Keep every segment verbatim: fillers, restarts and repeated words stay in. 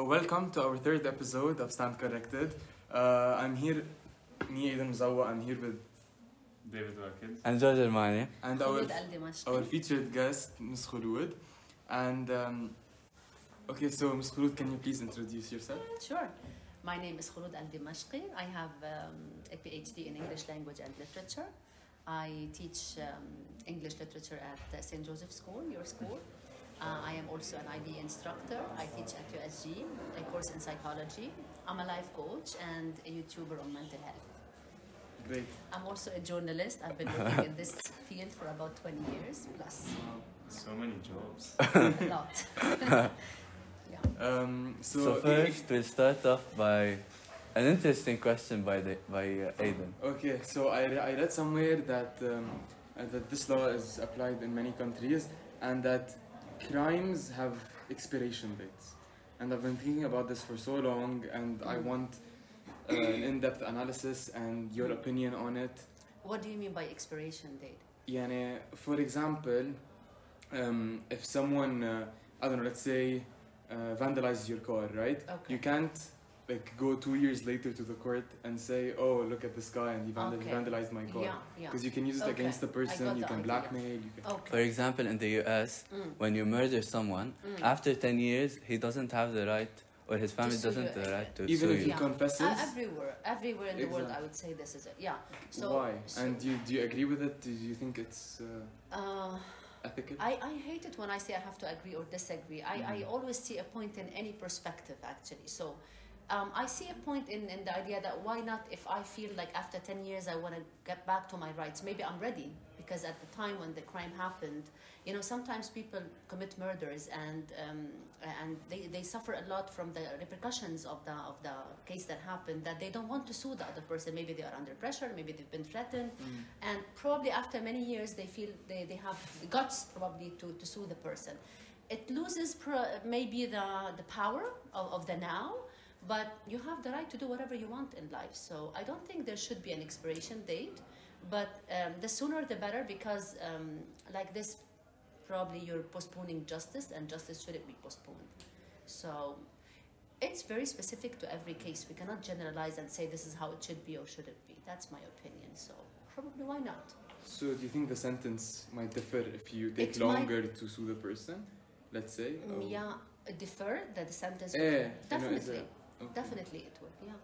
So welcome to our third episode of Stand Corrected. Uh, I'm here, me Aidan Mzawa, I'm here with David Wakid. And George Armani. and our, our featured guest, Miz Khulud. And um, okay, so Miz Khulud, can you please introduce yourself? Sure. My name is Khulud Al-Dimashqi. I have um, a PhD in English language and literature. I teach um, English literature at uh, Saint Joseph School, your school. Uh, I am also an I B instructor. I teach at U S G, a course in psychology. I'm a life coach and a YouTuber on mental health. Great. I'm also a journalist. I've been working in this field for about twenty years plus. Wow. So many jobs. A lot. Yeah. Um, so, So first, we'll start off by an interesting question by the, by uh, Aidan. Okay, so I, re- I read somewhere that um, uh, that this law is applied in many countries and that crimes have expiration dates. And I've been thinking about this for so long, and I want uh, an in-depth analysis and your opinion on it. What do you mean by expiration date? يعني, for example, um, if someone, uh, I don't know, let's say, uh, vandalizes your car, right? Okay. You can't like go two years later to the court and say, oh, look at this guy and he vandal- Okay. vandalized my car. Yeah, yeah. Because you can use it Okay. against the I person, got you the can idea. blackmail, you can... For Okay. example, in the U S, Mm. when you murder someone, Mm. after ten years, he doesn't have the right, or his family sue doesn't you have the again. right to Even sue if you. he confesses? Uh, everywhere, everywhere in the world, Exactly. I would say this is it. Yeah. So Why? so, And do you, do you agree with it? Do you think it's uh, uh, ethical? I, I hate it when I say I have to agree or disagree. I, I Mhm. always see a point in any perspective, actually. So um, I see a point in, in the idea that why not, if I feel like after ten years I want to get back to my rights, maybe I'm ready. Because at the time when the crime happened, you know, sometimes people commit murders and um, and they, they suffer a lot from the repercussions of the of the case that happened, that they don't want to sue the other person. Maybe they are under pressure, maybe they've been threatened, Mm. and probably after many years they feel they, they have the guts probably to, to sue the person. It loses pro- maybe the, the power of, of the now, but you have the right to do whatever you want in life. So I don't think there should be an expiration date, but um, the sooner the better, because um, like this, probably you're postponing justice, and justice shouldn't be postponed. So it's very specific to every case. We cannot generalize and say this is how it should be or shouldn't be. That's my opinion. So probably why not? So do you think the sentence might differ if you take It might- longer to sue the person, let's say? Mm, or- Yeah, defer that the sentence. Eh, you know, is definitely, that- okay. definitely it would. Yeah.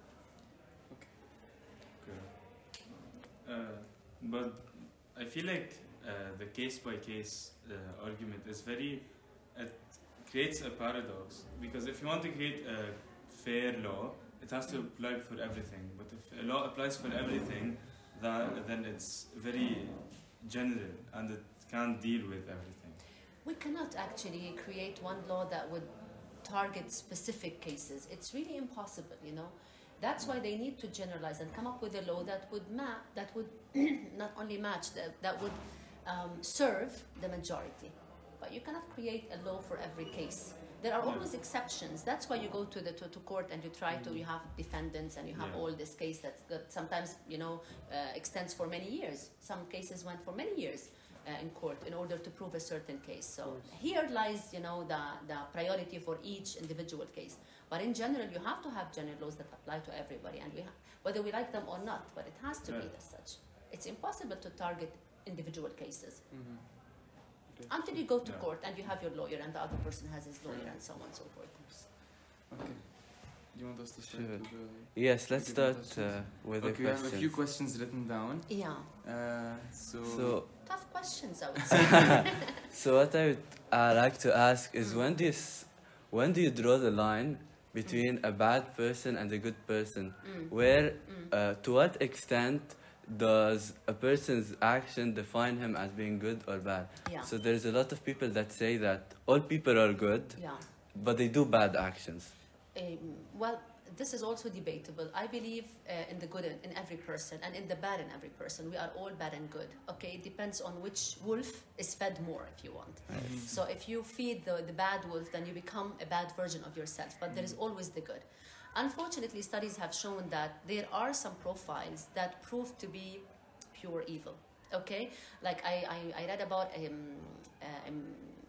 Uh, but I feel like uh, the case by case uh, argument is very, it creates a paradox, because if you want to create a fair law, it has to apply for everything. But if a law applies for everything, that, then it's very general and it can't deal with everything. We cannot actually create one law that would target specific cases. It's really impossible, you know. That's why they need to generalize and come up with a law that would ma- that would not only match, that, that would um, serve the majority. But you cannot create a law for every case. There are Yeah. always exceptions. That's why you go to the to, to court and you try to, you have defendants and you have Yeah. all this case that, that sometimes, you know, uh, extends for many years. Some cases went for many years uh, in court in order to prove a certain case. So here lies, you know, the, the priority for each individual case. But in general, you have to have general laws that apply to everybody, and we ha- whether we like them or not, but it has to be Right. as such. It's impossible to target individual cases Mhm. Okay. until you go to Yeah. court and you have your lawyer and the other person has his lawyer Right. and so on and so forth. Okay. Do you want us to start Sure. with the... Yes, let's Give me start questions. uh, with Okay, the we have a few questions. questions written down. Yeah, Uh, so... So, tough questions, I would say. so what I would uh, like to ask is Mm. when do you, s- when do you draw the line between a bad person and a good person? Mm. Where, Mm. uh, to what extent does a person's action define him as being good or bad? Yeah, So there's a lot of people that say that all people are good, yeah. but they do bad actions. Um, well, this is also debatable. I believe uh, in the good in, in every person and in the bad in every person. We are all bad and good. Okay, it depends on which wolf is fed more, if you want. Mhm. So if you feed the, the bad wolf, then you become a bad version of yourself. But there is always the good. Unfortunately, studies have shown that there are some profiles that prove to be pure evil. Okay, like I, I, I read about um, uh, um,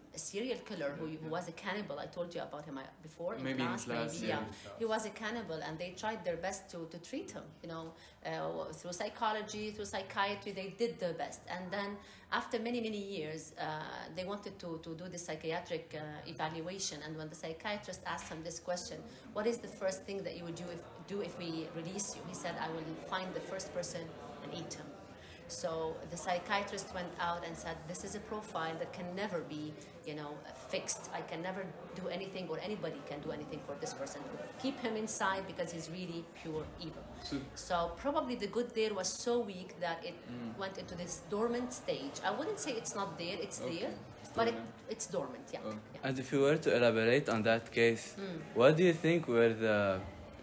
a serial killer who, who was a cannibal. I told you about him uh, before in Maybe in class. class, maybe, yeah. yeah. He was a cannibal, and they tried their best to, to treat him. You know, uh, through psychology, through psychiatry, they did their best. And then, after many many years, uh, they wanted to, to do the psychiatric uh, evaluation. And when the psychiatrist asked him this question, "What is the first thing that you would do if do if we release you?" He said, "I will find the first person and eat him." So the psychiatrist went out and said, "This is a profile that can never be, you know, fixed. I can never do anything, or anybody can do anything for this person. Keep him inside because he's really pure evil." So, So probably the good there was so weak that it Mm. went into this dormant stage. I wouldn't say it's not there; it's Okay. there, It's but it, dormant. it's dormant. Yeah. Okay. yeah. And if you were to elaborate on that case, Mm. what do you think were the...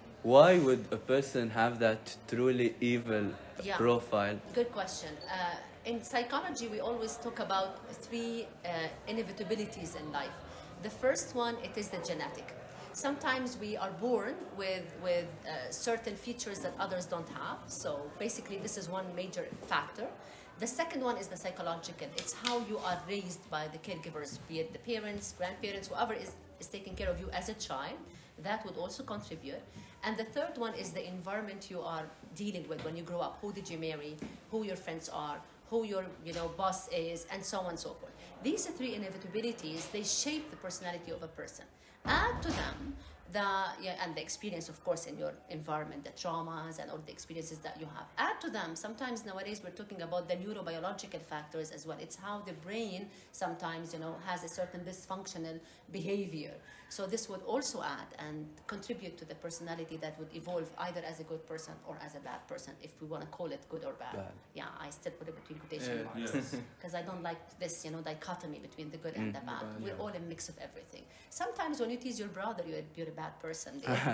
Why would a person have that truly evil Yeah. profile? Good question. Uh, in psychology, we always talk about three uh, inevitabilities in life. The first one, it is the genetic. Sometimes we are born with, with uh, certain features that others don't have. So basically, this is one major factor. The second one is the psychological. It's how you are raised by the caregivers, be it the parents, grandparents, whoever is, is taking care of you as a child. That would also contribute. And the third one is the environment you are dealing with when you grow up. Who did you marry? Who your friends are? Who your you know boss is, and so on and so forth. These three inevitabilities, they shape the personality of a person. Add to them the yeah, and the experience, of course, in your environment, the traumas and all the experiences that you have. Add to them, sometimes nowadays we're talking about the neurobiological factors as well. It's how the brain sometimes, you know, has a certain dysfunctional behavior. So this would also add and contribute to the personality that would evolve either as a good person or as a bad person, if we want to call it good or bad. Bad. Yeah, I still put it between quotation Yeah. marks Yes. because I don't like this, you know, dichotomy between the good and Mm. the bad. Bad, We're yeah. all a mix of everything. Sometimes when you tease your brother, you're, you're a bad person.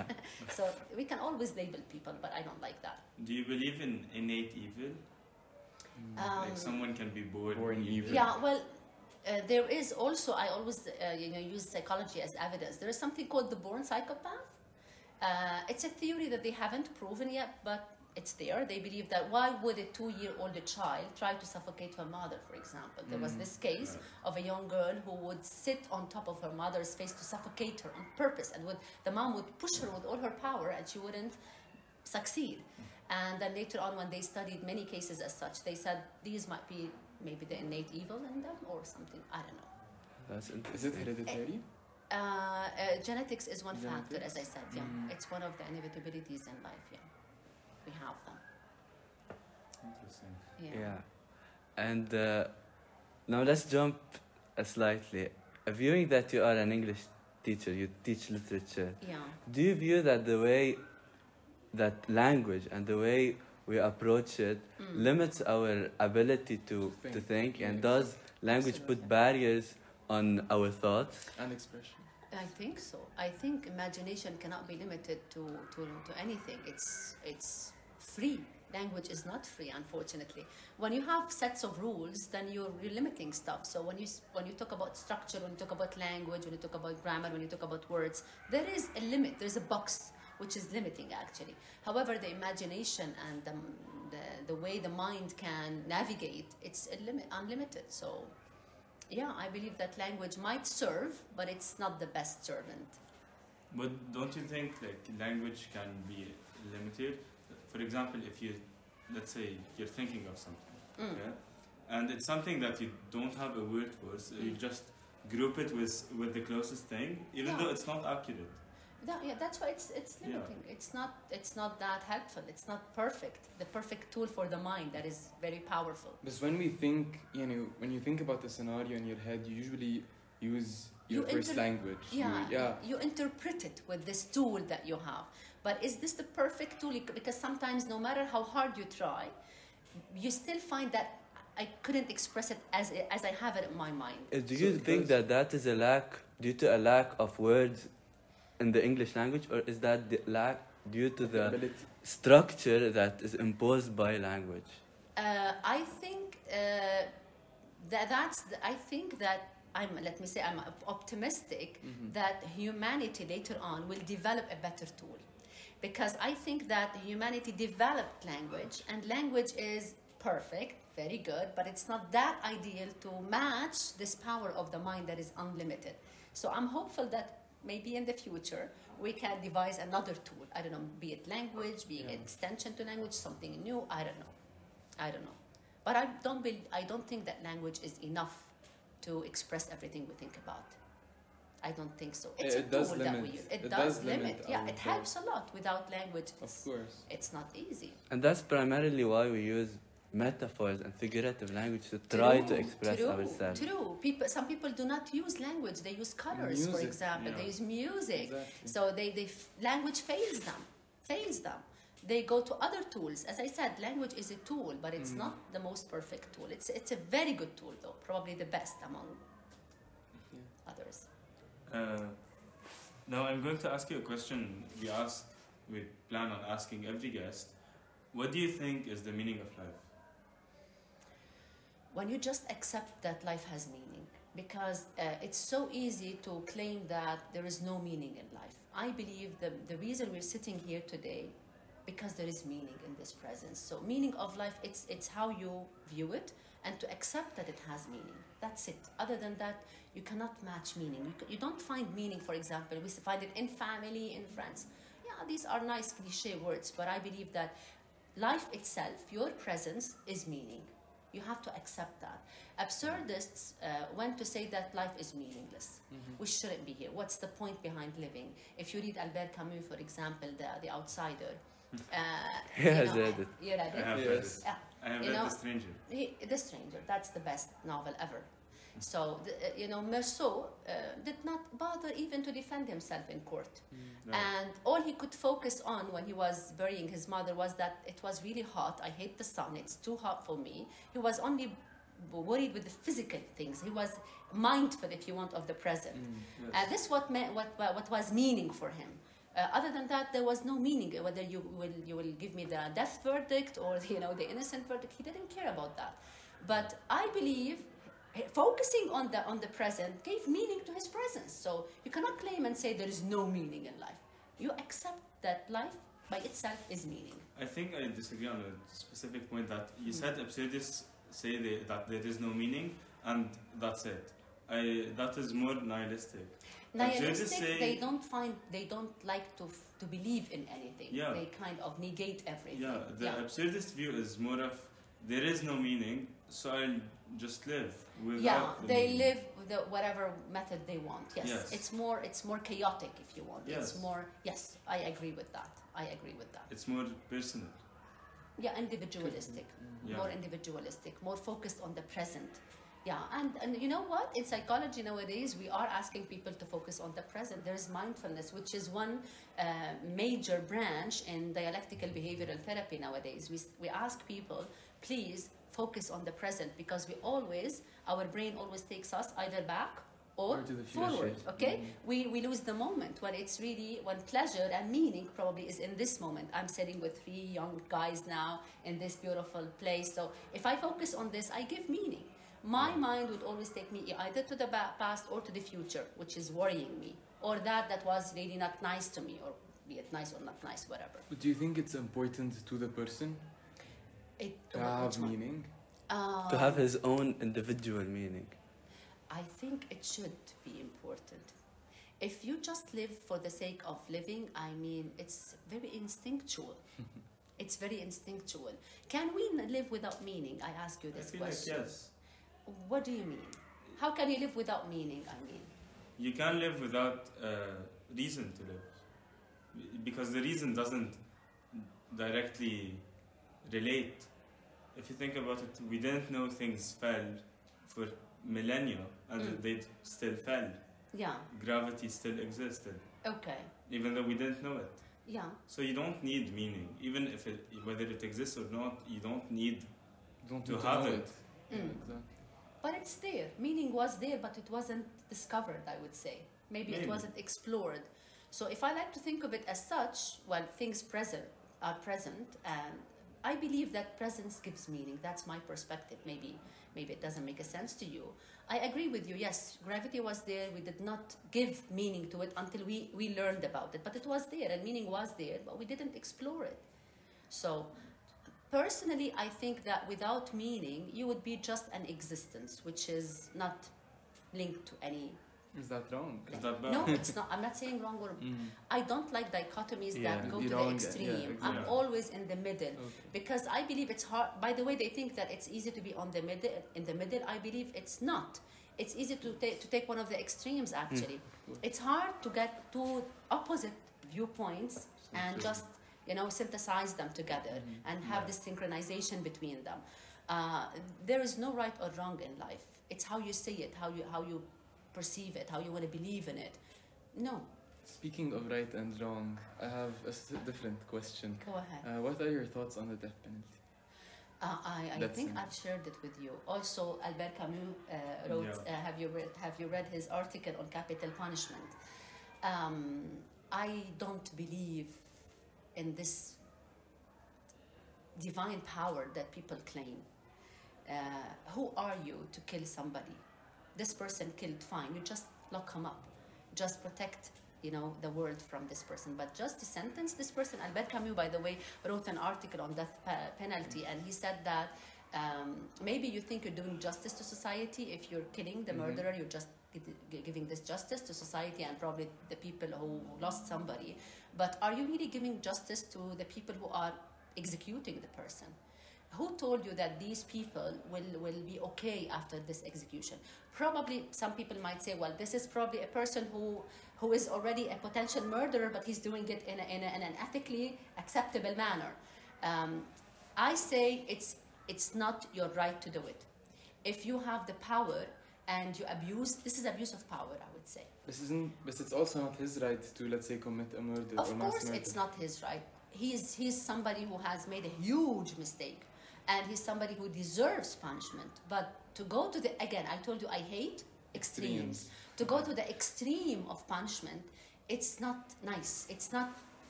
So we can always label people, but I don't like that. Do you believe in innate evil? Um, Like someone can be born, Born evil. Yeah, well, uh, there is also, I always uh, you know, use psychology as evidence. There is something called the born psychopath. Uh, it's a theory that they haven't proven yet, but it's there. They believe that why would a two-year-old child try to suffocate her mother, for example? There was Mm. this case of a young girl who would sit on top of her mother's face to suffocate her on purpose, and would, the mom would push her with all her power, and she wouldn't succeed. And then later on, when they studied many cases as such, they said these might be maybe the innate evil in them or something. I don't know. That's Is it interesting. hereditary? Uh, uh, genetics is one factor, Genetics? as I said. Yeah, Mm. it's one of the inevitabilities in life. Yeah, we have them. Interesting. Yeah. Yeah. And uh, now let's jump uh, slightly. Uh, Viewing that you are an English teacher, you teach literature, Yeah. do you view that the way that language and the way we approach it Mm. limits our ability to, to Think. think? And Yeah. does language put Absolutely. barriers on our thoughts? And expression. I think so. I think imagination cannot be limited to, to, to anything. It's it's free. Language is not free, unfortunately. When you have sets of rules, then you're, you're limiting stuff. So when you s- when you talk about structure, when you talk about language, when you talk about grammar, when you talk about words, there is a limit. There's a box which is limiting, actually. However, the imagination and the the, the way the mind can navigate, it's a limit, unlimited. So. Yeah, I believe that language might serve, but it's not the best servant. But don't you think like language can be limited? For example, if you, let's say, you're thinking of something, Mm. yeah, and it's something that you don't have a word for, so you Mm. just group it with with the closest thing, even Yeah. though it's not accurate. That, yeah, that's why it's it's Yeah. limiting. It's not it's not that helpful. It's not perfect. The perfect tool for the mind that is very powerful. Because when we think, you know, when you think about the scenario in your head, you usually use your You first inter- language. Yeah, You, yeah. you interpret it with this tool that you have. But is this the perfect tool? Because sometimes, no matter how hard you try, you still find that I couldn't express it as as I have it in my mind. Uh, Do So you because- think that that is a lack due to a lack of words in the English language, or is that the lack due to the ability. structure that is imposed by language? Uh, I think uh, that that's. The, I think that I'm. Let me say I'm op- optimistic Mhm. that humanity later on will develop a better tool, because I think that humanity developed language, and language is perfect, very good, but it's not that ideal to match this power of the mind that is unlimited. So I'm hopeful that maybe in the future we can devise another tool. I don't know, be it language, be it Yeah. extension to language, something new. I don't know. I don't know. But I don't be, I don't think that language is enough to express everything we think about. I don't think so. It's It a does tool that we limit- use. It, it does, does limit. limit Yeah, our it helps a lot. Without language, Of it's, course. it's not easy. And that's primarily why we use metaphors and figurative language to try to True, express true, ourselves. True. People, some people do not use language. They use colors, for Music, example. yeah. They use music. Exactly. So they, they f- language fails them. Fails them. They go to other tools. As I said, language is a tool, but it's Mm. not the most perfect tool. It's it's a very good tool, though. Probably the best among Yeah. others. Uh, now I'm going to ask you a question we ask, we plan on asking every guest. What do you think is the meaning of life? When you just accept that life has meaning, because uh, it's so easy to claim that there is no meaning in life. I believe the, the reason we're sitting here today, because there is meaning in this presence. So meaning of life, it's, it's how you view it and to accept that it has meaning. That's it. Other than that, you cannot match meaning. You, c- you don't find meaning, for example, we find it in family, in friends. Yeah, these are nice cliche words, but I believe that life itself, your presence, is meaning. You have to accept that. Absurdists uh, went to say that life is meaningless. Mhm. We shouldn't be here. What's the point behind living? If you read Albert Camus, for example, The, the Outsider. Uh, He you has know, read it. You read I it? have read Yes. it. Yeah. I have You read know- The Stranger. He, The Stranger, that's the best novel ever. So, the, uh, you know, Meursault uh, did not bother even to defend himself in court. No. And all he could focus on when he was burying his mother was that it was really hot. I hate the sun. It's too hot for me. He was only worried with the physical things. He was mindful, if you want, of the present. Mm. Yes. And this what meant, what what was meaning for him. Uh, other than that, there was no meaning. Whether you will you will give me the death verdict or you know the innocent verdict, he didn't care about that. But I believe eh, focusing on the on the present gave meaning to his presence. So you cannot claim and say there is no meaning in life. You accept that life by itself is meaning. I think I disagree on a specific point that you said absurdists say they, that there is no meaning and that's it. I, that is more nihilistic. Absurdists Nihilistic, say- they don't find they don't like to f- to believe in anything. Yeah. They kind of negate everything. Yeah, the yeah. absurdist view is more of there is no meaning, so I'll just live without Yeah, the they meaning. live with the, whatever method they want. Yes. Yes. It's more it's more chaotic if you want. It's Yes. more yes, I agree with that. I agree with that. It's more personal. Yeah, individualistic. Yeah. More individualistic, more focused on the present. Yeah, and, and you know what? In psychology nowadays, we are asking people to focus on the present. There's mindfulness, which is one uh, major branch in dialectical behavioral therapy nowadays. We, we ask people, please focus on the present, because we always, our brain always takes us either back or, Or to the future. forward, okay? Mhm. We, we lose the moment when it's really, when pleasure and meaning probably is in this moment. I'm sitting with three young guys now in this beautiful place. So if I focus on this, I give meaning. My mind would always take me either to the ba- past or to the future, which is worrying me, or that that was really not nice to me, or be it nice or not nice, whatever. But do you think it's important to the person It, to which have one? meaning? Uh, To have his own individual meaning. I think it should be important. If you just live for the sake of living, I mean, it's very instinctual. It's very instinctual. Can we n- live without meaning? I ask you I this feel question. like yes. What do you mean? How can you live without meaning? I mean, You can live without uh, reason to live. Because the reason doesn't directly relate. If you think about it, we didn't know things fell for millennia and Mm. they still fell. yeah, Gravity still existed, okay, even though we didn't know it. yeah, So you don't need meaning. Even if it, whether it exists or not, you don't need Don't to need have know it. Yeah, Mm. exactly. but it's there. Meaning was there, but it wasn't discovered, I would say. Maybe, it Maybe. wasn't explored. So if I like to think of it as such, well, things present are present, and I believe that presence gives meaning. That's my perspective. Maybe, maybe it doesn't make a sense to you. I agree with you. Yes, gravity was there. We did not give meaning to it until we, we learned about it. But it was there, and meaning was there, but we didn't explore it. So personally, I think that without meaning, you would be just an existence, which is not linked to any. Is that wrong? Is that bad? No, it's not. I'm not saying wrong or. Mm. I don't like dichotomies Yeah. that go Be to wrong, the yeah, extreme. yeah, I'm exactly. always in the middle Okay. because I believe it's hard. By the way, they think that it's easy to be on the middle. In the middle, I believe it's not. It's easy to take to take one of the extremes. Actually, it's hard to get two opposite viewpoints and true. just you know synthesize them together Mhm. and have Yeah. this synchronization between them. Uh, there is no right or wrong in life. It's how you see it, how you how you perceive it, how you want to believe in it. No, Speaking of right and wrong, I have a s- different question. go ahead. Uh, what are your thoughts on the death penalty? Uh, I, I That's think in- I've shared it with you. Also, Albert Camus uh, wrote. Yeah. Uh, have you read Have you read his article on capital punishment? Um, I don't believe in this divine power that people claim. Uh, who are you to kill somebody? This person killed, fine. You just lock him up. Just protect, you know, the world from this person. But just to sentence this person, Albert Camus, by the way, wrote an article on death pe- penalty, and he said that um, maybe you think you're doing justice to society if you're killing the Mhm. murderer. You're just gi- gi- giving this justice to society and probably the people who lost somebody. But are you really giving justice to the people who are executing the person? Who told you that these people will, will be okay after this execution? Probably some people might say, well, this is probably a person who, who is already a potential murderer, but he's doing it in, a, in, a, in an ethically acceptable manner. Um, I say it's, it's not your right to do it. If you have the power and you abuse, this is abuse of power, I would say. This isn't, but it's also not his right to, let's say, commit a murder Of or mass course, murder. it's not his right. He's, he's somebody who has made a huge mistake, and he's somebody who deserves punishment. But to go to the, again, I told you I hate extremes. Extremes. To go to the extreme of punishment, it's not nice. It's not,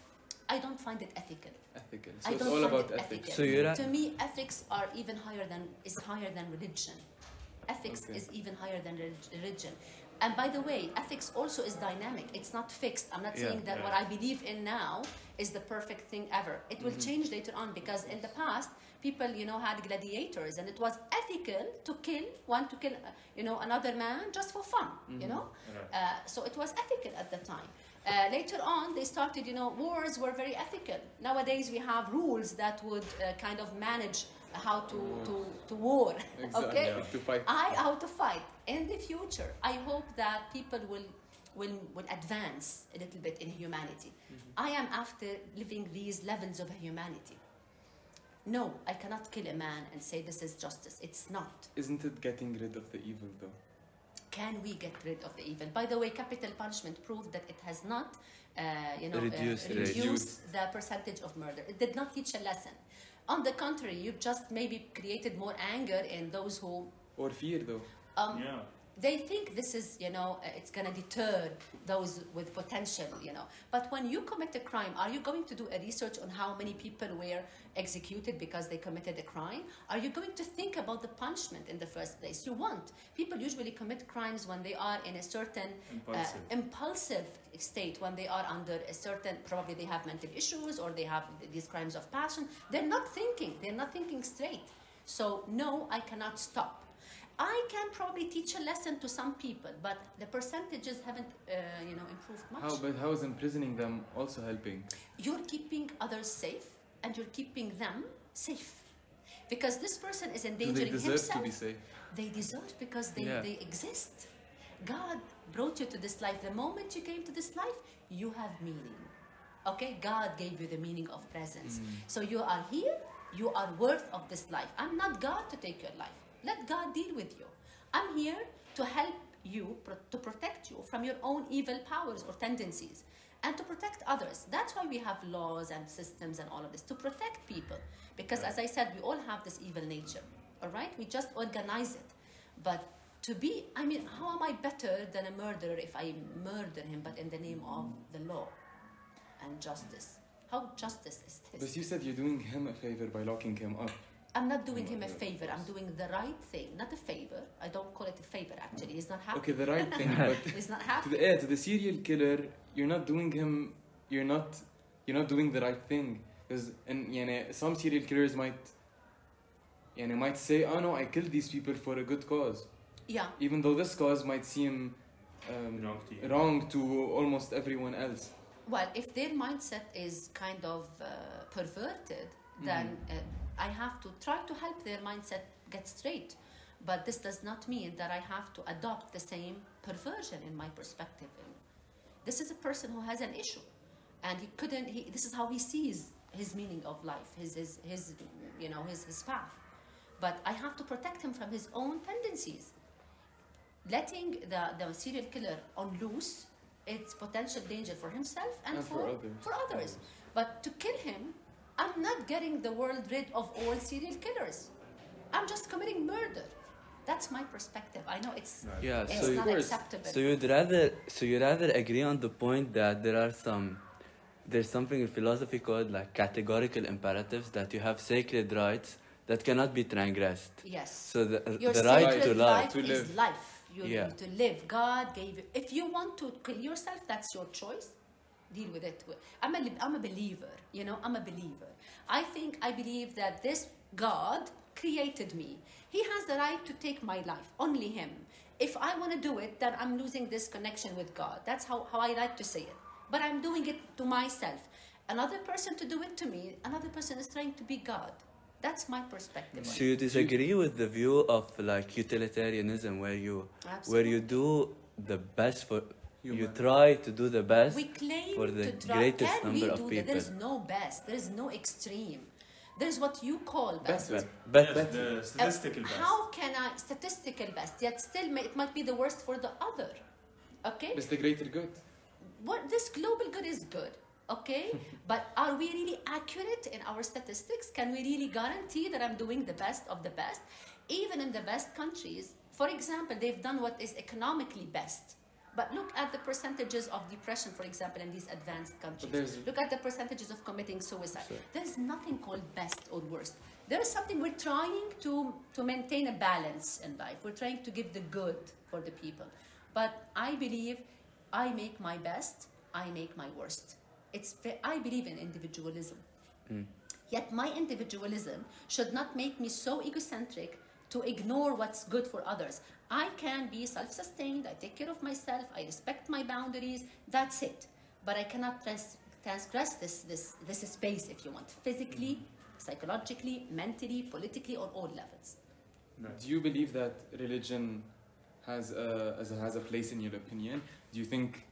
I don't find it ethical. Ethical. So I it's don't all find about it ethics. ethical. So you're at- To me, ethics are even higher than, is higher than religion. Ethics Okay. is even higher than relig- religion. And by the way, ethics also is dynamic. It's not fixed. I'm not Yeah. saying that Yeah. what I believe in now is the perfect thing ever. It will Mhm. change later on because in the past, people, you know, had gladiators and it was ethical to kill one, to kill, uh, you know, another man just for fun, you Mhm. know? Right. Uh, so it was ethical at the time. Uh, later on, they started, you know, wars were very ethical. Nowadays, we have rules that would uh, kind of manage how to, to, to war, Exactly. okay? Yeah. To fight. I how to fight. In the future, I hope that people will, will, will advance a little bit in humanity. I am after living these levels of humanity. No, I cannot kill a man and say this is justice. It's not. Isn't it getting rid of the evil, though? Can we get rid of the evil? By the way, capital punishment proved that it has not, uh, you know, Reduced uh, rate. reduced the percentage of murder. It did not teach a lesson. On the contrary, you've just maybe created more anger in those who Or fear, though. um, Yeah. they think this is, you know, uh, it's going to deter those with potential, you know. But when you commit a crime, are you going to do a research on how many people were executed because they committed a crime? Are you going to think about the punishment in the first place? You won't. People usually commit crimes when they are in a certain Impulsive. Uh, impulsive state, when they are under a certain, probably they have mental issues or they have these crimes of passion. They're not thinking. They're not thinking straight. So no, I cannot stop. I can probably teach a lesson to some people, but the percentages haven't, uh, you know, improved much. How, but how is imprisoning them also helping? You're keeping others safe, and you're keeping them safe, because this person is Do they endangering deserve himself. to be safe? They deserve because they, Yeah. they exist. God brought you to this life. The moment you came to this life, you have meaning. Okay, God gave you the meaning of presence. Mm. So you are here. You are worth of this life. I'm not God to take your life. Let God deal with you. I'm here to help you, pro- to protect you from your own evil powers or tendencies, and to protect others. That's why we have laws and systems and all of this, to protect people. Because as I said, we all have this evil nature, all right? We just organize it. But to be, I mean, how am I better than a murderer if I murder him, but in the name of the law and justice? How justice is this? But you said you're doing him a favor by locking him up. I'm not doing him a Yeah, of favor. I'm course. doing the right thing, not a favor. I don't call it a favor, actually. He's not happy. Okay, the right thing, but He's not to happy. the, yeah, to the serial killer, you're not doing him. You're not. You're not doing the right thing. Because and يعني, some serial killers might يعني, might say, oh no, I killed these people for a good cause. Yeah. Even though this cause might seem um, Wrong to you. wrong to almost everyone else. Well, if their mindset is kind of uh, perverted, then uh, I have to try to help their mindset get straight. But this does not mean that I have to adopt the same perversion in my perspective. This is a person who has an issue, and he couldn't. He, this is how he sees his meaning of life, his his, his you know his, his path. But I have to protect him from his own tendencies. Letting the, the serial killer on loose, it's potential danger for himself and, And for, for others. for others. But to kill him, I'm not getting the world rid of all serial killers. I'm just committing murder. That's my perspective. I know it's Right. Yeah, it's so you, not course. acceptable. so you'd rather so you rather agree on the point that there are some there's something in philosophy called like categorical imperatives, that you have sacred rights that cannot be transgressed. Yes. So the, Your the right sacred to life. To is live. life. You Yeah. need to live. God gave you. If you want to kill yourself, that's your choice. Deal with it. I'm a, I'm a believer. You know, I'm a believer. I think I believe that this God created me. He has the right to take my life. Only Him. If I want to do it, then I'm losing this connection with God. That's how, how I like to say it. But I'm doing it to myself. Another person to do it to me, another person is trying to be God. That's my perspective. So you disagree with the view of like utilitarianism, where you where you do the best for you Human. try to do the best We claim for the to try. greatest Can number we of do people. that? There is no best. There is no extreme. There is what you call best. Best. But, Yes, but the Uh, statistical best. How can I statistical best? Yet still, may, it might be the worst for the other. Okay. It's the greater good. What this global good is good. Okay. But are we really accurate in our statistics? Can we really guarantee that I'm doing the best of the best? Even in the best countries, for example, they've done what is economically best. But look at the percentages of depression, for example, in these advanced countries. there's- Look at the percentages of committing suicide. Sure. There's nothing called best or worst. There is something we're trying to, to maintain a balance in life. We're trying to give the good for the people. But I believe I make my best, I make my worst. It's, ve- I believe in individualism. Mm. Yet my individualism should not make me so egocentric to ignore what's good for others. I can be self-sustained, I take care of myself, I respect my boundaries, that's it. But I cannot trans- transgress this, this, this space, if you want, physically, psychologically, mentally, politically, on all levels. Right. Do you believe that religion has a, as a, has a place in your opinion? Do you think,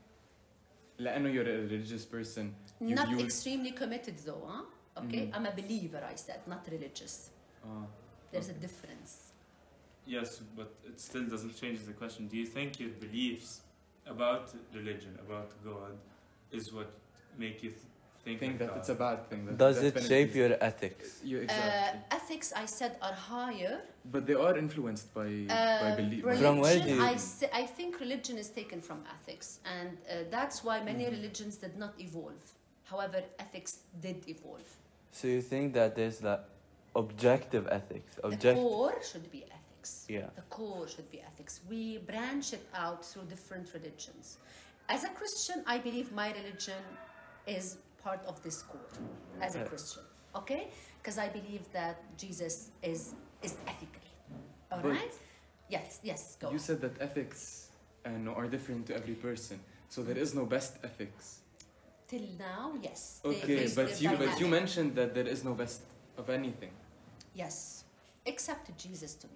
لأنه you're a religious person, you Not view extremely committed though, huh? Okay? Mhm. I'm a believer, I said, not religious. uh, There's a Okay. difference. Yes, but it still doesn't change the question. Do you think your beliefs about religion, about God, is what make you th- think, think like that God? it's a bad thing? That does that it benefits shape you? your ethics? You Uh, exactly. ethics, I said, are higher. But they are influenced by by Uh, belief. religion, From where do you- I, s- I think religion is taken from ethics, and uh, that's why many Mhm. religions did not evolve. However, ethics did evolve. So you think that there's like objective ethics? The Object. core should be ethics. Yeah. The core should be ethics. We branch it out through different religions. As a Christian, I believe my religion is part of this core. As a Yeah. Christian, okay? Because I believe that Jesus is is ethical. All But- right? Yes. Yes. Go. You said that ethics uh, no, are different to every person, so there is no best ethics. Till now, yes. They- Okay, they- but they're you but you dynamic. mentioned that there is no best of anything. Yes, except Jesus to me.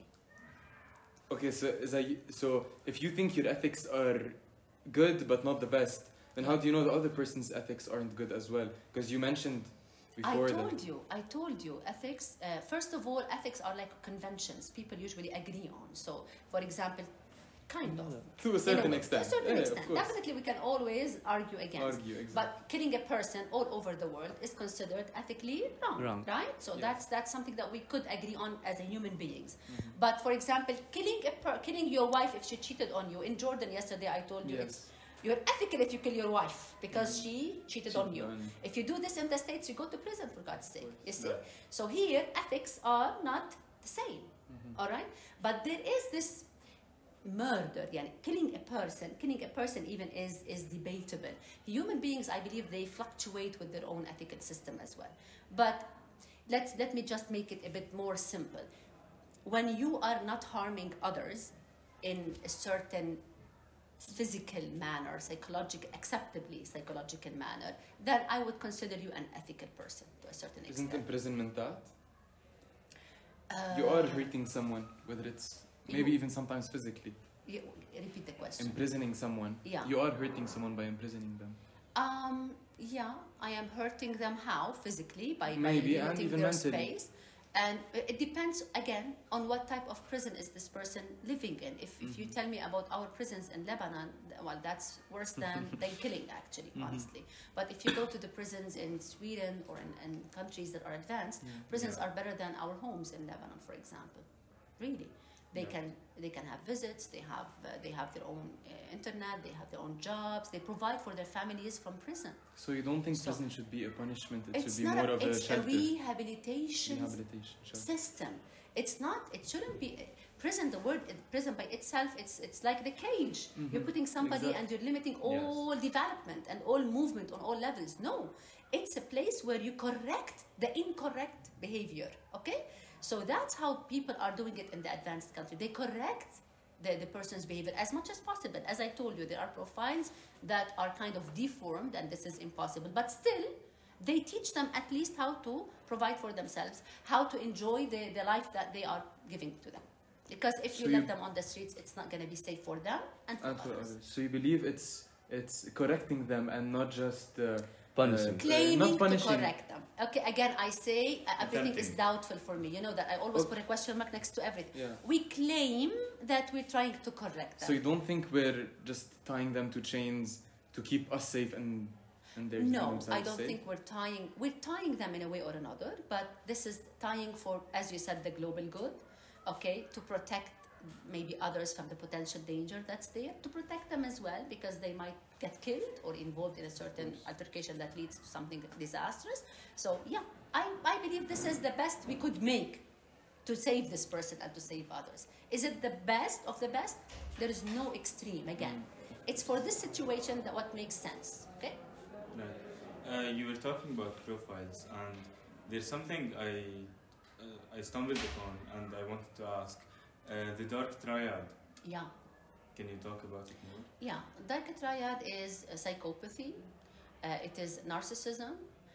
Okay, so is that, so if you think your ethics are good but not the best, then how do you know the other person's ethics aren't good as well? Because you mentioned before I that. told you, I told you, ethics, uh, first of all, ethics are like conventions people usually agree on. So, for example, kind of. To a In a certain way, extent. To a certain Yeah, of extent. course. Definitely, we can always argue against. Argue, exactly. But killing a person all over the world is considered ethically wrong, Wrong. right? So Yes. that's that's something that we could agree on as a human beings. Mhm. But for example, killing a per- killing your wife if she cheated on you in Jordan yesterday, I told you it's Yes. you're ethical if you kill your wife because she cheated on you. On- If you do this in the States, you go to prison for God's sake. You see? Right. So here, ethics are not the same. Mhm. All right? But there is this murder, يعني killing a person, killing a person even is, is debatable. Human beings, I believe, they fluctuate with their own ethical system as well. But let's, let me just make it a bit more simple. When you are not harming others in a certain physical manner, psychological, acceptably psychological manner, then I would consider you an ethical person to a certain extent. Isn't imprisonment that? Uh, You are hurting someone, whether it's maybe You- even sometimes physically. you, repeat the question. Imprisoning someone. Yeah. You are hurting someone by imprisoning them. Um, yeah, I am hurting them how? Physically, by, by Maybe, and limiting even their mentally. space. And it it depends, again, on what type of prison is this person living in. If, if you Mhm. tell me about our prisons in Lebanon, th- well, that's worse than, than killing, actually, Mhm. honestly. But if you go to the prisons in Sweden or in, in countries that are advanced, prisons Yeah. are better than our homes in Lebanon, for example. Really. They Yeah. can they can have visits. They have uh, they have their own uh, internet. They have their own jobs. They provide for their families from prison. So you don't think So- prison should be a punishment? It It's should be not more a, of a it's a shelter. rehabilitation Rehabilitation shelter. system. It's not. It shouldn't be prison. The word uh, prison by itself, it's it's like the cage. You're Mhm. putting somebody Exactly. and you're limiting all development and all movement on all levels. No, it's a place where you correct the incorrect behavior. Okay, so that's how people are doing it in the advanced country. They correct the, the person's behavior as much as possible. As I told you, there are profiles that are kind of deformed, and this is impossible. But still, they teach them at least how to provide for themselves, how to enjoy the, the life that they are giving to them. Because if you So let you- them on the streets, it's not going to be safe for them and for And for others. others. So you believe it's it's correcting them and not just uh, Punishing. Uh, Claiming not to punishing. correct them. Okay, again, I say uh, everything is Attempting. doubtful for me. You know that I always Okay. put a question mark next to everything. Yeah. We claim that we're trying to correct them. So you don't think we're just tying them to chains to keep us safe and and they're No, themselves I don't safe? think we're tying we're tying them in a way or another, but this is tying for, as you said, the global good, okay, to protect maybe others from the potential danger that's there, to protect them as well because they might get killed or involved in a certain altercation that leads to something disastrous. So yeah, I, I believe this is the best we could make to save this person and to save others. Is it the best of the best? There is no extreme. Again, it's for this situation that what makes sense. Okay. Right. Uh, you were talking about profiles, and there's something I uh, I stumbled upon, and I wanted to ask. Uh, the dark triad. Yeah. Can you talk about it more? Yeah, dark triad is uh, psychopathy, uh, it is narcissism,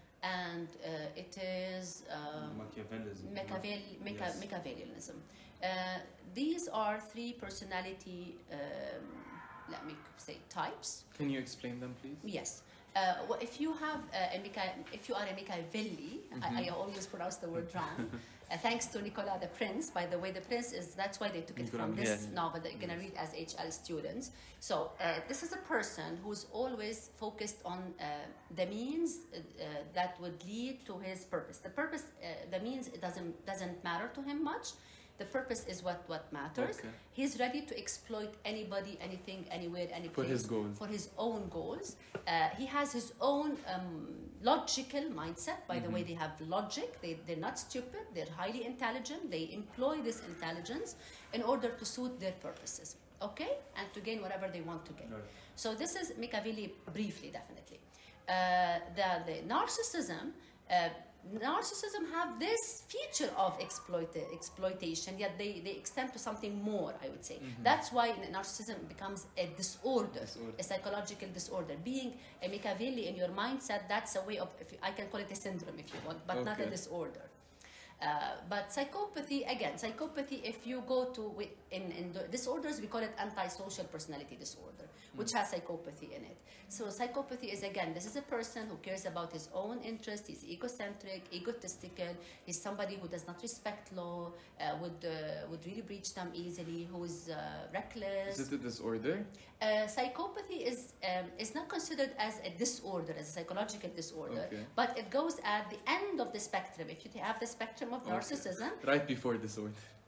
and uh, it is um, Machiavellism. no? Machiavel, Macha- Yes. Machiavellianism. Uh, these are three personality, um, let me say, types. Can you explain them, please? Yes. Uh, well, if you have uh, a Micha- if you are a Machiavelli, I, I always pronounce the word wrong. Uh, thanks to Nicolas the Prince, by the way, the Prince is that's why they took it Nicolas, from this yes. novel that you're gonna read as H L students. So uh, this is a person who's always focused on uh, the means uh, uh, that would lead to his purpose. The purpose, uh, the means, it doesn't doesn't matter to him much. The purpose is what what matters. Okay. He's ready to exploit anybody, anything, anywhere, any For place his goals. for his own goals. Uh, he has his own um, logical mindset. By the way, they have logic. They, they're not stupid. They're highly intelligent. They employ this intelligence in order to suit their purposes, okay? And to gain whatever they want to gain. Right. So this is Machiavelli briefly, definitely. Uh, the, the narcissism, uh, narcissism have this feature of exploit, exploitation, yet they, they extend to something more, I would say. That's why narcissism becomes a disorder, Disorder. a psychological disorder. Being a Machiavelli in your mindset, that's a way of, if you, I can call it a syndrome if you want, but not a Okay. disorder. Uh, but psychopathy, again, psychopathy, if you go to, wi- in, in the disorders, we call it antisocial personality disorder, which has psychopathy in it. So psychopathy is, again, this is a person who cares about his own interest, he's egocentric, egotistical, he's somebody who does not respect law, uh, would, uh, would really breach them easily, who's uh, reckless. Is it a disorder? Uh, psychopathy is um, is not considered as a disorder, as a psychological disorder, Okay. but it goes at the end of the spectrum. If you have the spectrum of narcissism, Right before disorder.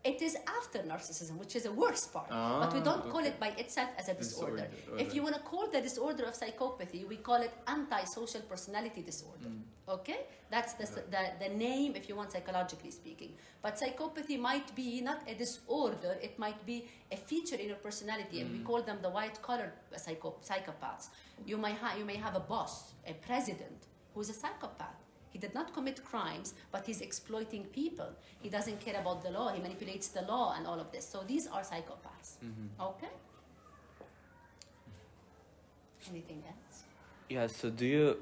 It is after narcissism, which is a worse part. But we don't call okay. it by itself as a disorder. Disorder, If alright. you want to call the disorder of psychopathy, we call it antisocial personality disorder. Okay? That's the, the, the name, if you want, psychologically speaking. But psychopathy might be not a disorder, it might be a feature in your personality, and we call them the white-collar psycho- psychopaths. You, might ha- you may have a boss, a president, who's a psychopath. He did not commit crimes, but he's exploiting people. He doesn't care about the law. He manipulates the law and all of this. So these are psychopaths. Okay? Anything else? Yeah, so do you,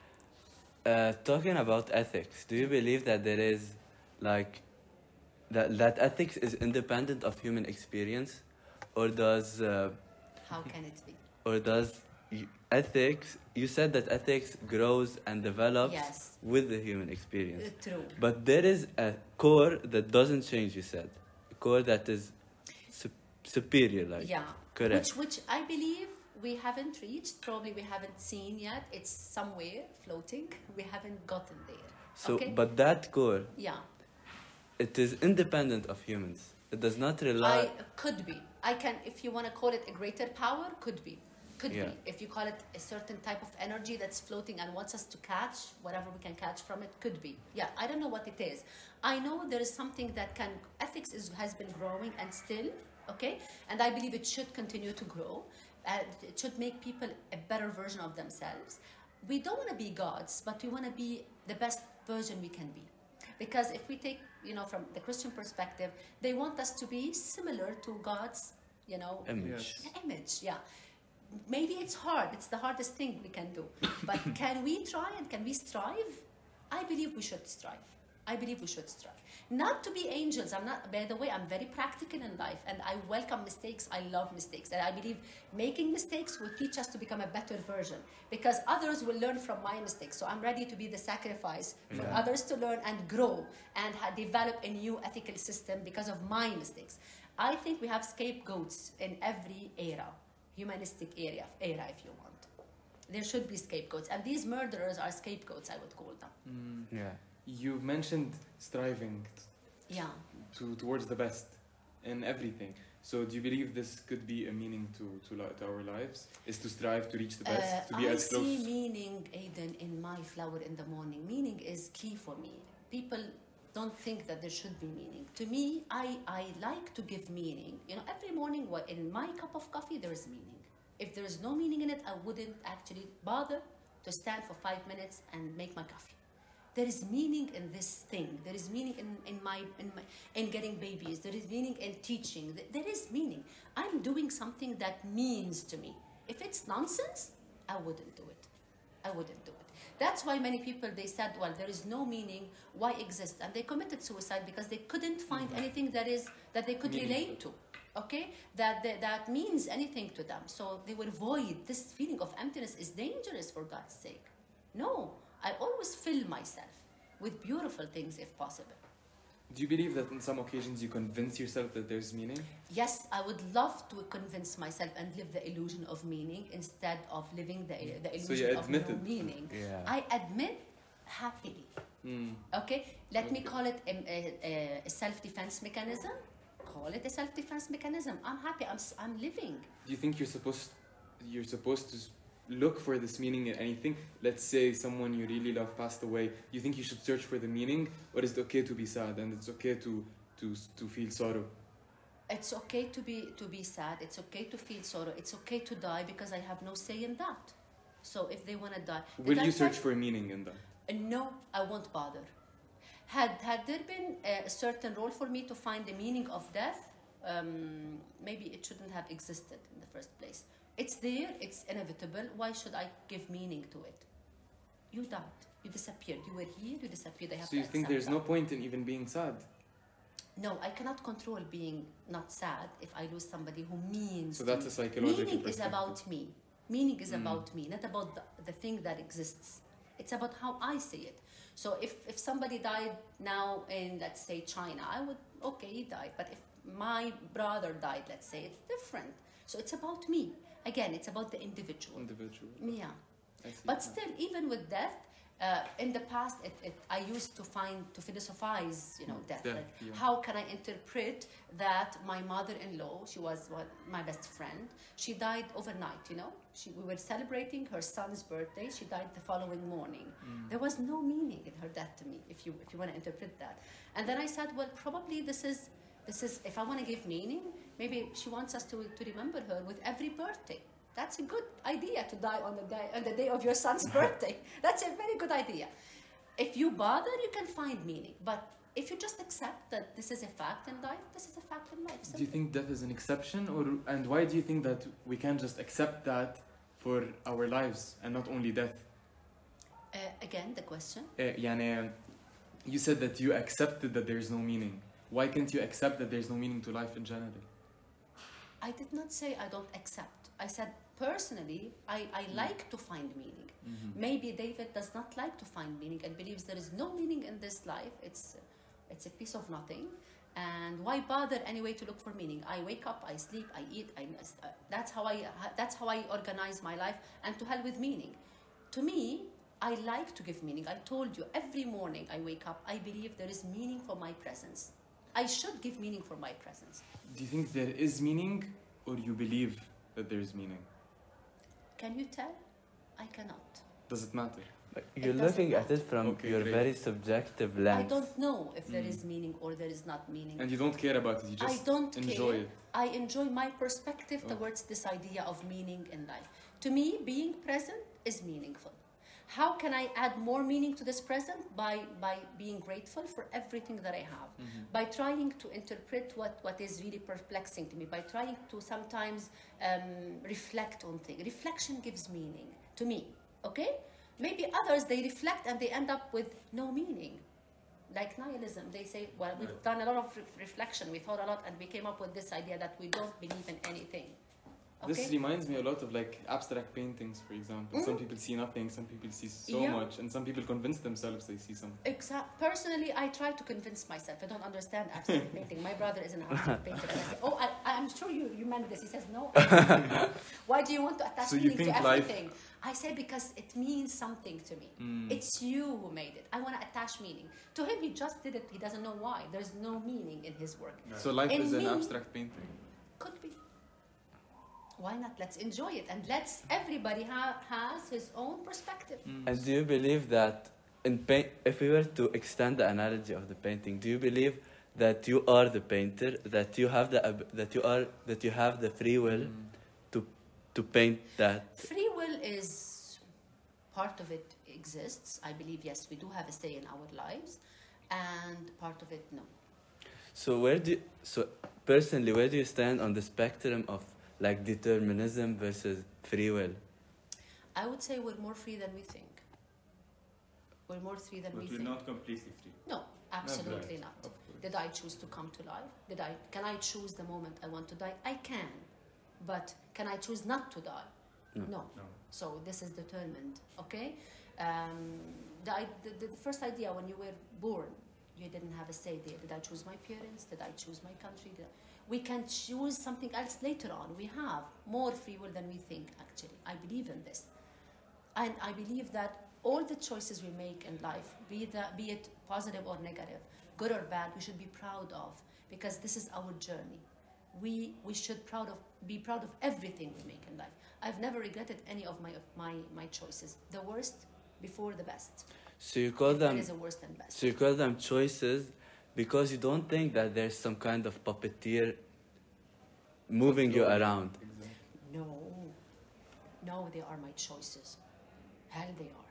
uh, talking about ethics, do you believe that there is, like, that, that ethics is independent of human experience? Or does, uh, How can it be? or does y- ethics, you said that ethics grows and develops Yes. with the human experience. Uh, true. But there is a core that doesn't change, you said. A core that is su- superior, like. Yeah. Correct. Which, which I believe we haven't reached. Probably we haven't seen yet. It's somewhere floating. We haven't gotten there. So, okay? but that core, Yeah. it is independent of humans. It does not rely. I could be. I can, if you want to call it a greater power, could be. Could Yeah. be. If you call it a certain type of energy that's floating and wants us to catch whatever we can catch from it, could be. Yeah, I don't know what it is. I know there is something that can, ethics is, has been growing and still, okay? And I believe it should continue to grow. Uh, it should make people a better version of themselves. We don't want to be gods, but we want to be the best version we can be. Because if we take, you know, from the Christian perspective, they want us to be similar to God's, you know, image. Yes. image. Yeah. Maybe it's hard. It's the hardest thing we can do. But can we try and can we strive? I believe we should strive. I believe we should strive. Not to be angels. I'm not, by the way, I'm very practical in life and I welcome mistakes. I love mistakes. And I believe making mistakes will teach us to become a better version because others will learn from my mistakes. So I'm ready to be the sacrifice for Yeah. others to learn and grow and ha- develop a new ethical system because of my mistakes. I think we have scapegoats in every era, humanistic era, era if you want. There should be scapegoats. And these murderers are scapegoats, I would call them. Yeah. You've mentioned striving Yeah. to towards the best in everything. So do you believe this could be a meaning to to, li- to our lives? Is to strive to reach the best, Uh, to be I as close? see meaning, Aiden, in my flower in the morning. Meaning is key for me. People don't think that there should be meaning. To me, I, I like to give meaning. You know, every morning wha- in my cup of coffee, there is meaning. If there is no meaning in it, I wouldn't actually bother to stand for five minutes and make my coffee. There is meaning in this thing. There is meaning in, in my in my in getting babies. There is meaning in teaching. Th- There is meaning. I'm doing something that means to me. If it's nonsense, I wouldn't do it. I wouldn't do it. That's why many people they said, well, there is no meaning. Why exist? And they committed suicide because they couldn't find anything that is that they could relate to. Okay, that, that that means anything to them. So they were void. This feeling of emptiness is dangerous for God's sake. No. I always fill myself with beautiful things if possible. Do you believe that in some occasions you convince yourself that there's meaning? Yes, I would love to convince myself and live the illusion of meaning instead of living the, the So illusion you of admit no it. meaning. Yeah. I admit happily. Mm. Okay, let me call it a, a, a self-defense mechanism. Call it a self-defense mechanism. I'm happy. I'm, s- I'm living. Do you think you're supposed you're supposed to look for this meaning in anything? Let's say someone you really love passed away. Do you think you should search for the meaning, or is it okay to be sad and it's okay to to to feel sorrow? It's okay to be to be sad. It's okay to feel sorrow. It's okay to die because I have no say in that. So if they want to die, Did Will I you tell search for meaning in that? Uh, No, I won't bother. Had had there been a certain role for me to find the meaning of death, um, maybe it shouldn't have existed in the first place. It's there, it's inevitable. Why should I give meaning to it? You died, you disappeared. You were here, you disappeared. I have So to you think accept there's no that. point in even being sad? No, I cannot control being not sad if I lose somebody who means. So to that's me. a psychological Meaning is perspective. about me. Meaning is Mm. about me, not about the, the thing that exists. It's about how I see it. So if, if somebody died now in, let's say, China, I would, okay, he died. But if my brother died, let's say, it's different. So it's about me. Again, it's about the individual. Individual. Yeah. I see. But still, even with death, Uh, in the past, it, it, I used to find, to philosophize, you know, death. Death, Like, yeah. how can I interpret that my mother-in-law, she was one, my best friend, she died overnight, you know? She, we were celebrating her son's birthday, she died the following morning. Mm. There was no meaning in her death to me, if you, if you want to interpret that. And then I said, well, probably this is, this is if I want to give meaning, maybe she wants us to, to remember her with every birthday. That's a good idea, to die on the day, on the day of your son's birthday. That's a very good idea. If you bother, you can find meaning. But if you just accept that this is a fact in life, this is a fact in life. Do you think death is an exception, or and why do you think that we can't just accept that for our lives and not only death? Uh, again, the question. Uh, يعني, you said that you accepted that there is no meaning. Why can't you accept that there is no meaning to life in general? I did not say I don't accept. I said personally, I, I like to find meaning. Mm-hmm. Maybe David does not like to find meaning and believes there is no meaning in this life. It's, it's a piece of nothing. And why bother anyway to look for meaning? I wake up, I sleep, I eat. I, uh, that's, how I, that's how I organize my life. And to hell with meaning. To me, I like to give meaning. I told you, every morning I wake up, I believe there is meaning for my presence. I should give meaning for my presence. Do you think there is meaning, or you believe that there is meaning? Can you tell? I cannot. Does it matter? Like, you're doesn't looking at it from Okay, your great. very subjective I lens. don't know if there Mm. is meaning or there is not meaning. And you don't care about it, you just I don't enjoy care. it. I enjoy my perspective Oh. towards this idea of meaning in life. To me, being present is meaningful. How can I add more meaning to this present? By, by being grateful for everything that I have. Mm-hmm. By trying to interpret what, what is really perplexing to me. By trying to sometimes um, reflect on things. Reflection gives meaning to me, okay? Maybe others, they reflect and they end up with no meaning. Like nihilism, they say, well, we've Right. done a lot of re- reflection, we thought a lot, and we came up with this idea that we don't believe in anything. This Okay? reminds me a lot of like abstract paintings, for example. Some Mhm. people see nothing, some people see so Yeah. much, and some people convince themselves they see something. Exact. Personally, I try to convince myself. I don't understand abstract painting. My brother is an abstract painter, and I say, "Oh, I, I'm sure you, you meant this." He says, "No." I don't know. Why do you want to attach So you meaning to think life- everything? I say because it means something to me. Mm. It's you who made it. I want to attach meaning to him. He just did it. He doesn't know why. There's no meaning in his work. Yeah. So life In is an me- abstract painting. Could be. Why not? Let's enjoy it, and let's. Everybody ha- has his own perspective. Mm. And do you believe that in paint, if we were to extend the analogy of the painting, do you believe that you are the painter, that you have the ab- that you are that you have the free will Mm. to to paint that? Free will is part of it exists. I believe yes, we do have a say in our lives, and part of it no. So where do you, so personally where do you stand on the spectrum of like determinism versus free will? I would say we're more free than we think. We're more free than But we we're think. not completely free. No, absolutely Right. not. Of course. Did I choose to come to life? Did I? Can I choose the moment I want to die? I can, but can I choose not to die? No. No. No. So this is determined. Okay. Um, the, i- the, the first idea when you were born, you didn't have a say there. Did I choose my parents? Did I choose my country? Did I- we can choose something else later on. We have more free will than we think. Actually, I believe in this, and I believe that all the choices we make in life, be that be it positive or negative, good or bad, we should be proud of, because this is our journey. We we should proud of be proud of everything we make in life. I've never regretted any of my my my choices. The worst before the best. So you call If there them is a worst and best. so you call them choices because you don't think that there's some kind of puppeteer moving you around. Exactly. No, no, they are my choices. Hell, they are.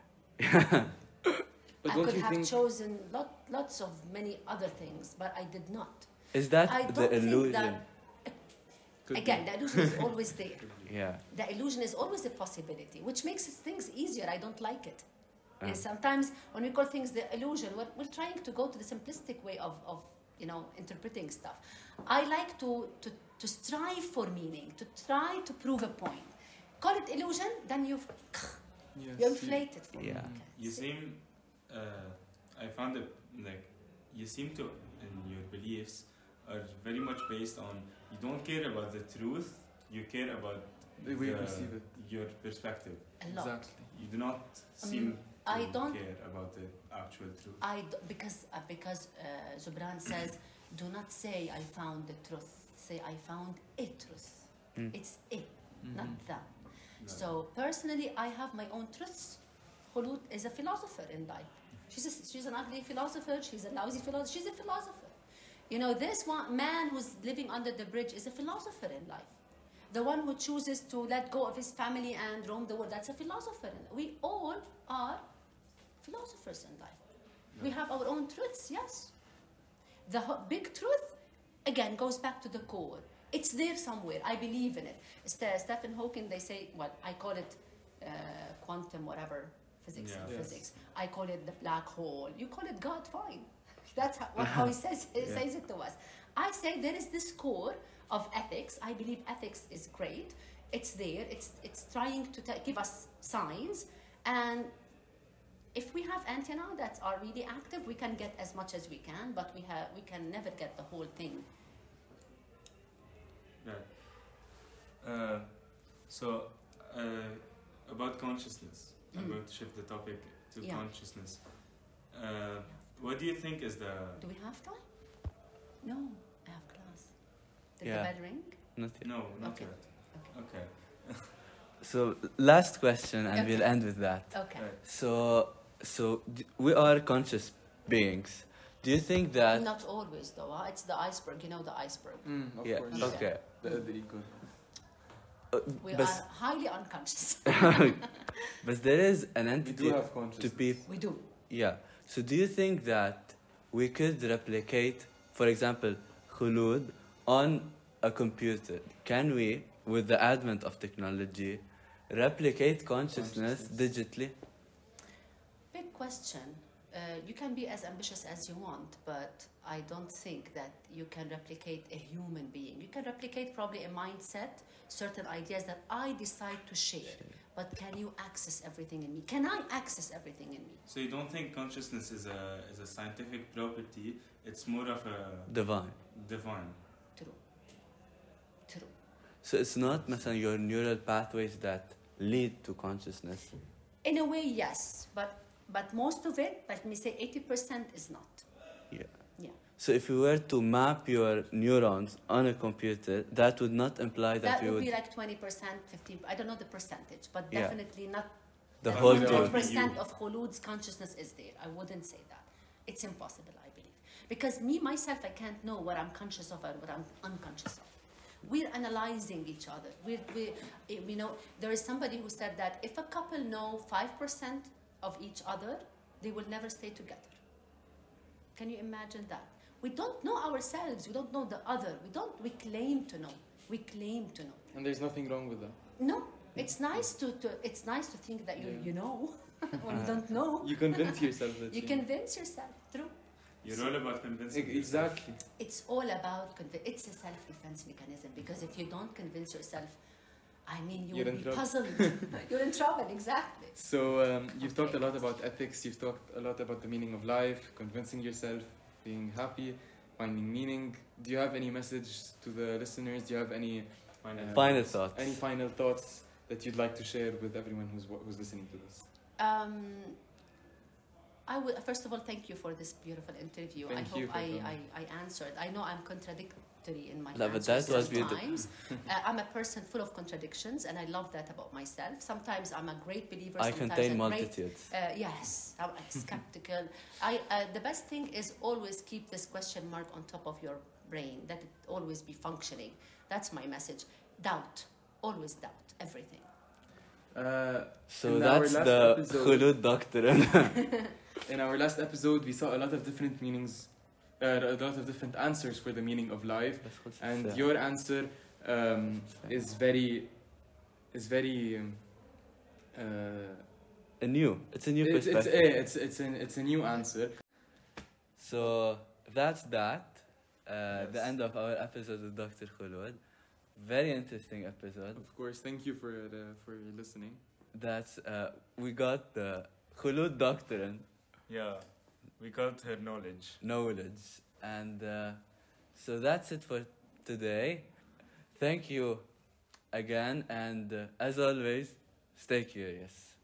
But I don't could you have think chosen lot, lots of many other things, but I did not. Is that I the don't think illusion? that- could Again, be. the illusion is always there. Yeah. The illusion is always a possibility, which makes things easier. I don't like it. Ah. And sometimes when we call things the illusion, we're, we're trying to go to the simplistic way of, of you know, interpreting stuff. I like to, to, to strive for meaning, to try to prove a point. Call it illusion, then you've, Yes, you inflate it for me. Yeah. Okay. You seem, uh, I found it like you seem to, in your beliefs, are very much based on you don't care about the truth, you care about The way you perceive it. your perspective. A lot. Exactly. You do not seem to I don't- care about the actual truth? I d- because uh, because uh, Zubran says, do not say I found the truth. Say I found a truth. Mm. It's it, not Mhm. that. No. So personally, I have my own truths. Khulud is a philosopher in life. She's a, she's an ugly philosopher. She's a lousy philosopher. She's a philosopher. You know, this one man who's living under the bridge is a philosopher in life. The one who chooses to let go of his family and roam the world, that's a philosopher. We all are philosophers in life. We have our own truths, yes. The ho- big truth, again, goes back to the core. It's there somewhere. I believe in it. St- Stephen Hawking, they say, well, I call it uh, quantum whatever, physics, Yeah. Yes. physics. I call it the black hole. You call it God, fine. That's how, what, how he says, he Yeah. says it to us. I say there is this core of ethics. I believe ethics is great. It's there. It's, it's trying to ta- give us signs. And if we have antenna that are really active, we can get as much as we can, but we have we can never get the whole thing. Right. Uh, so, uh, about consciousness, I'm Mm. going to shift the topic to Yeah. consciousness. Uh, what do you think is the... Do we have time? No, I have class. Did Yeah. the bell ring? Not yet. No, not Okay. yet. Okay. So last question, and Okay. we'll end with that. Okay. Right. So, so d- we are conscious beings. Do you think that? Not always, though. Huh? It's the iceberg. You know the iceberg. Mm, of Yeah. course. Okay. Okay. The, the ego. Uh, We but, are highly unconscious. but there is an We entity do have to consciousness. people. We do. Yeah. So do you think that we could replicate, for example, khulud on a computer? Can we, with the advent of technology, replicate consciousness, Consciousness. digitally? Big question. Uh, you can be as ambitious as you want, but I don't think that you can replicate a human being. You can replicate probably a mindset, certain ideas that I decide to share. But can you access everything in me? Can I access everything in me? So you don't think consciousness is a, is a scientific property, it's more of a Divine. divine. True. True. So it's not مثلا your neural pathways that lead to consciousness. In a way, yes, but but most of it, let me say eighty percent is not. Yeah. Yeah. So if you were to map your neurons on a computer, that would not imply that, That you would would be like twenty percent, fifteen I don't know the percentage, but Yeah. definitely not the that whole one truth. hundred percent You. of Khulud's consciousness is there. I wouldn't say that. It's impossible, I believe. Because me, myself, I can't know what I'm conscious of and what I'm unconscious of. We're analyzing each other. We're, we, you know, there is somebody who said that if a couple know five percent of each other, they will never stay together. Can you imagine that? We don't know ourselves. We don't know the other. We don't. We claim to know. We claim to know. And there's nothing wrong with that. No, it's nice to, to it's nice to think that you Yeah. you know when you don't know. You convince yourself that You convince yourself. True. You're all about convincing E- yourself. Exactly. It's all about convi- it's a self-defense mechanism because if you don't convince yourself, I mean, you You're will in be trouble. puzzled. You're in trouble, exactly. So um, you've talked a lot about ethics. You've talked a lot about the meaning of life, convincing yourself, being happy, finding meaning. Do you have any message to the listeners? Do you have any Final uh, Final thoughts. Any final thoughts that you'd like to share with everyone who's wa- who's listening to this? Um, I would first of all thank you for this beautiful interview. Thank I hope you for I, coming. I, I answered. I know I'm contradictory in my No, but answers that was beautiful. sometimes. uh, I'm a person full of contradictions, and I love that about myself. Sometimes I'm a great believer. I sometimes contain a great multitudes. Uh, yes, I'm skeptical. I uh, the best thing is always keep this question mark on top of your brain. That it always be functioning. That's my message. Doubt, always doubt everything. Uh, So in our that's last the episode- khulud doctrine. in our last episode, we saw a lot of different meanings, uh, a lot of different answers for the meaning of life, and your answer um, is very, is very. Um, uh, a new. It's a new it's, it's, perspective. eh, it's it's an it's a new answer. So that's that. Uh, Yes. The end of our episode with Doctor Khulud. Very interesting episode. Of course, thank you for uh, for listening. That's uh, we got the Khulud doctrine Yeah, we got her knowledge. knowledge, and uh, so that's it for today. Thank you again, and uh, as always, stay curious.